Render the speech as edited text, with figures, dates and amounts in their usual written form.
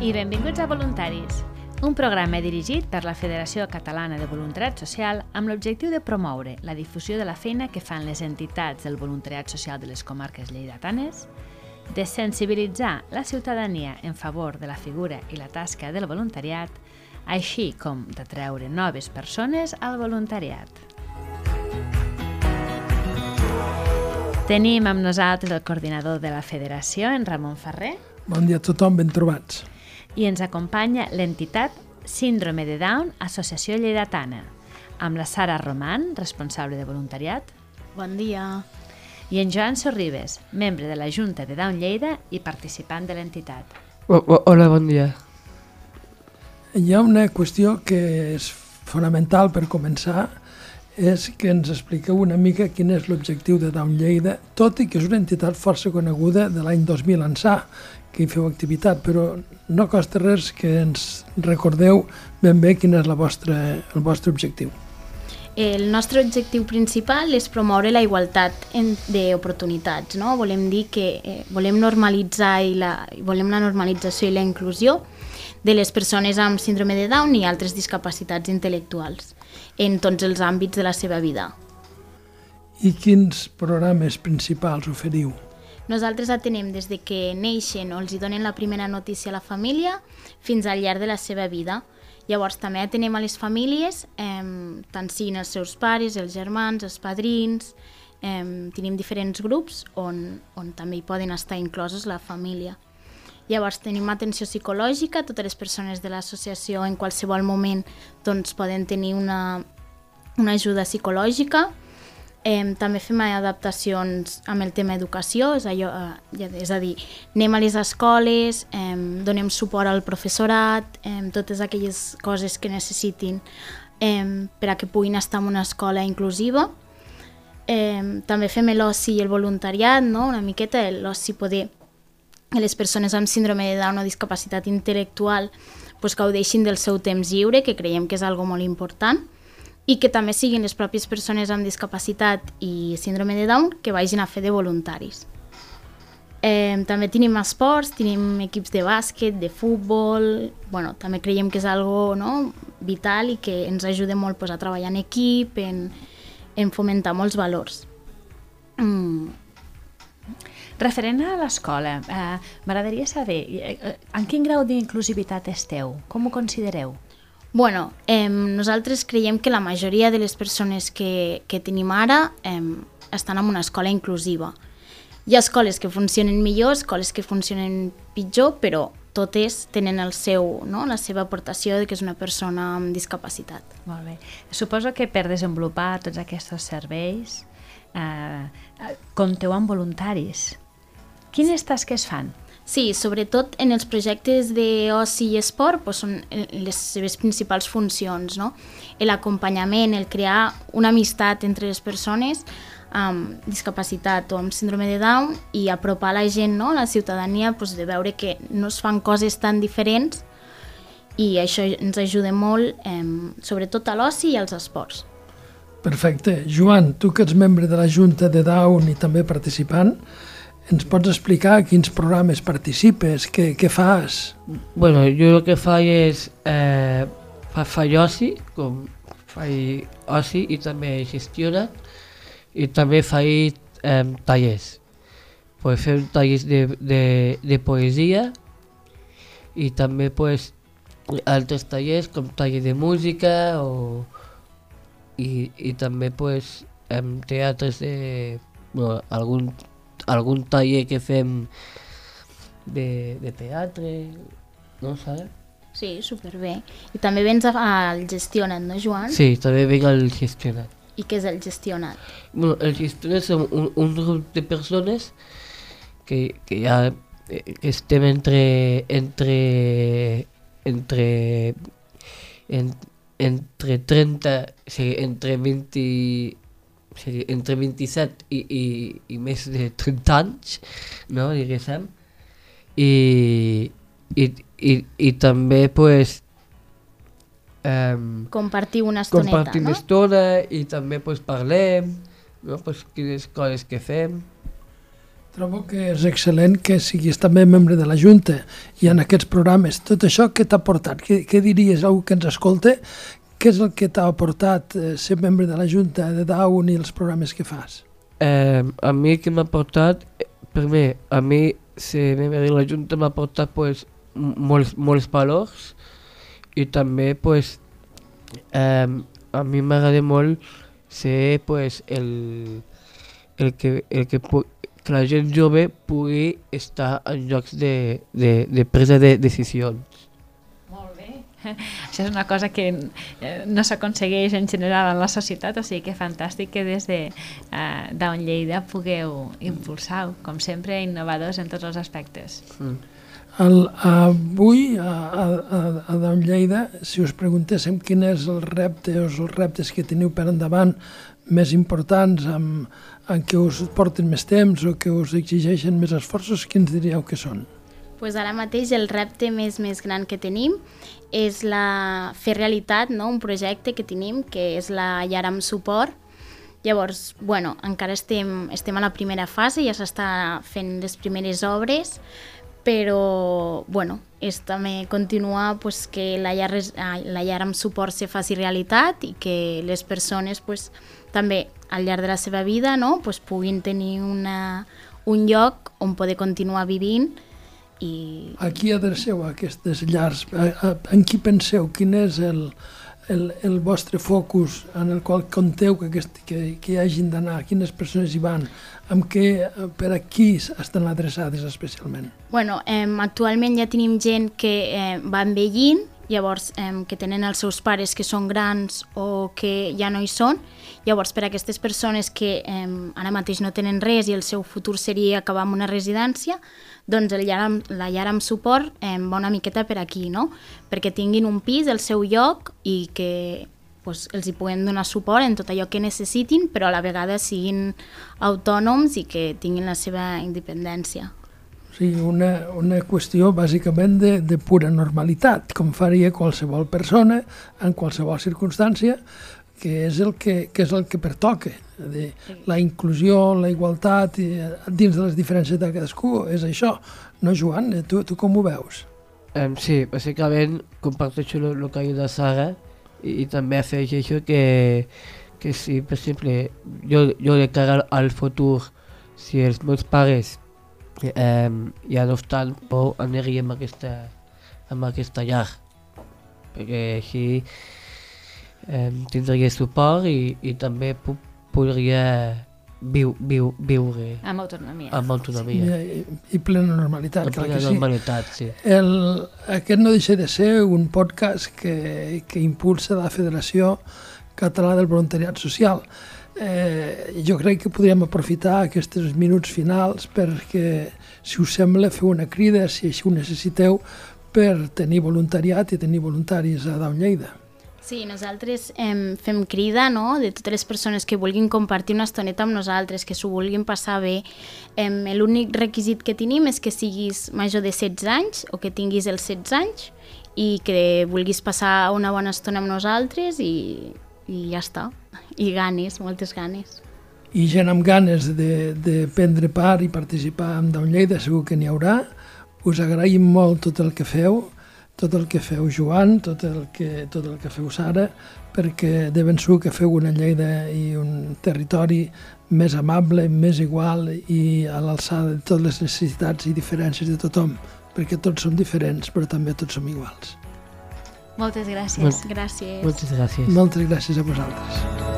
i benvinguts a Voluntaris, un programa dirigit per la Federació Catalana de Voluntariat Social amb l'objectiu de promoure la difusió de la feina que fan les entitats del voluntariat social de les comarques lleidatanes, de sensibilitzar la ciutadania en favor de la figura i la tasca del voluntariat, així com d'atreure noves persones al voluntariat. Tenim amb nosaltres el coordinador de la Federació, en Ramon Ferrer. Bon dia a tothom, ben trobats. I ens acompanya l'entitat Síndrome de Down, Associació Lleidatana, amb la Sara Roman, responsable de voluntariat. Bon dia. I en Joan Sorribes, membre de la Junta de Down Lleida i participant de l'entitat. Hola, bon dia. Hi ha una qüestió que és fonamental per començar, és que ens expliqueu una mica quin és l'objectiu de Down Lleida, tot i que és una entitat força coneguda de l'any 2000 ençà, que hi feu activitat, però no costa res que ens recordeu ben bé quin és el vostre objectiu. El nostre objectiu principal és promoure la igualtat d'oportunitats, no? Volem dir que volem normalitzar volem la normalització i la inclusió de les persones amb síndrome de Down i altres discapacitats intel·lectuals en tots els àmbits de la seva vida. I quins programes principals oferiu? Nosaltres atenem des de que neixen o els hi donen la primera notícia a la família fins al llarg de la seva vida. Llavors també atenem a les famílies, tant siguin els seus pares, els germans, els padrins. Tenim diferents grups on també hi poden estar inclosos la família. Llavors tenim atenció psicològica, totes les persones de l'associació en qualsevol moment doncs, poden tenir una ajuda psicològica. També fem adaptacions amb el tema educació, és a dir, anem a les escoles, donem suport al professorat, totes aquelles coses que necessitin per a que puguin estar en una escola inclusiva. També fem l'oci i el voluntariat, no? Una miqueta l'oci poder que les persones amb síndrome de Down o discapacitat intel·lectual gaudeixin del seu temps lliure, que creiem que és algo molt important, i que també siguin les pròpies persones amb discapacitat i síndrome de Down que vagin a fer de voluntaris. També tenim esports, tenim equips de bàsquet, de futbol. També creiem que és algo vital i que ens ajuda molt a treballar en equip, en fomentar molts valors. Referent a l'escola, m'agradaria saber en quin grau d'inclusivitat esteu? Com ho considereu? Nosaltres creiem que la majoria de les persones que tenim ara estan en una escola inclusiva. Hi ha escoles que funcionen millor, escoles que funcionen pitjor, però totes tenen la seva aportació de que és una persona amb discapacitat. Molt bé. Suposo que per desenvolupar tots aquests serveis compteu amb voluntaris. Quines tasques fan? Sí, sobretot en els projectes d'oci i esport són les seves principals funcions, no? L'acompanyament, el crear una amistat entre les persones amb discapacitat o amb síndrome de Down i apropar la gent, la ciutadania, de veure que no es fan coses tan diferents i això ens ajuda molt, sobretot a l'oci i als esports. Perfecte. Joan, tu que ets membre de la Junta de Down i també participant, ens pots explicar a quins programes participes, què fas? Jo el que faig és faig oci, faig oci i també gestiona, i també faig tallers. Fem tallers de poesia i també altres tallers com taller de música i també teatres algun taller que fem de teatre, no saps? Sí, superbé. I també vens al Gestionat, no, Joan? Sí, també venc al Gestionat. I què és el Gestionat? El Gestionat és un grup de persones que estem entre 30, entre 27 i més de 30 anys, no, diguéssim, i també compartir una estoneta, compartim estona i també parlem, no, quines coses que fem. Trobo que és excel·lent que siguis també membre de la Junta i en aquests programes. Tot això què t'ha aportat? Què diries a algú que ens escolta? Què és el que t'ha aportat ser membre de la Junta de Down i els programes que fas? A mi que m'ha aportat, primer, a mi ser membre de la Junta m'ha aportat pues, molts valors i també pues, a mi m'agrada molt ser pues, que la gent jove pugui estar en llocs de presa de decisions. Molt bé. Això és una cosa que no s'aconsegueix en general en la societat, o sigui que fantàstic que des de Down Lleida pugueu impulsar, com sempre, innovadors en tots els aspectes. Avui, a Down Lleida, si us preguntéssim quin és el repte o els reptes que teniu per endavant més importants, en què us porten més temps o que us exigeixen més esforços, quins diríeu que són? Pues ara mateix el repte més gran que tenim és fer realitat, no? Un projecte que tenim, que és la llar amb suport. Llavors, bueno, encara estem a la primera fase, ja s'està fent les primeres obres, però bueno, és també continuar pues, que la llar amb suport se faci realitat i que les persones pues, també al llarg de la seva vida no, pues, puguin tenir un lloc on poder continuar vivint. A qui adreceu aquestes llars? En qui penseu? Quin és el vostre focus en el qual compteu que hi hagin d'anar? Quines persones hi van? Per a qui estan adreçades especialment? Bueno, actualment ja tenim gent que va envellint, llavors que tenen els seus pares que són grans o que ja no hi són. Llavors, per a aquestes persones que ara mateix no tenen res i el seu futur seria acabar en una residència, doncs la llar amb suport va una miqueta per aquí, no? Perquè tinguin un pis, el seu lloc, i que pues, els hi puguem donar suport en tot allò que necessitin, però a la vegada siguin autònoms i que tinguin la seva independència. O sigui, una qüestió bàsicament de pura normalitat, com faria qualsevol persona en qualsevol circumstància, que és el que pertoca. La inclusió, la igualtat, dins de les diferències de cadascú, és això. No, Joan? Tu com ho veus? Sí, bàsicament comparteixo el que ha dit la Sara i també afegeixo que si, per exemple, jo de cara al futur, si els meus pares ja no estan, aniria amb aquesta llar, perquè així tindria suport i també podria viure amb autonomia. Amb autonomia. I plena normalitat, clar que sí. Normalitat, sí. Aquest no deixa de ser un podcast que impulsa la Federació Catalana del Voluntariat Social. Jo crec que podríem aprofitar aquests minuts finals perquè, si us sembla, fer una crida, si així ho necessiteu, per tenir voluntariat i tenir voluntaris a Down Lleida. Sí, nosaltres fem crida, no?, de totes les persones que vulguin compartir una estoneta amb nosaltres, que s'ho vulguin passar bé. L'únic requisit que tenim és que siguis major de 16 anys o que tinguis els 16 anys i que vulguis passar una bona estona amb nosaltres i ja està. I ganes, moltes ganes. I gent amb ganes de prendre part i participar en Down Lleida segur que n'hi haurà. Us agraïm molt tot el que feu, Joan, tot el que feu Sara, perquè de ben segur que feu una Lleida i un territori més amable, més igual i a l'alçada de totes les necessitats i diferències de tothom, perquè tots som diferents, però també tots som iguals. Moltes gràcies. Gràcies. Moltes gràcies. Moltes gràcies a vosaltres.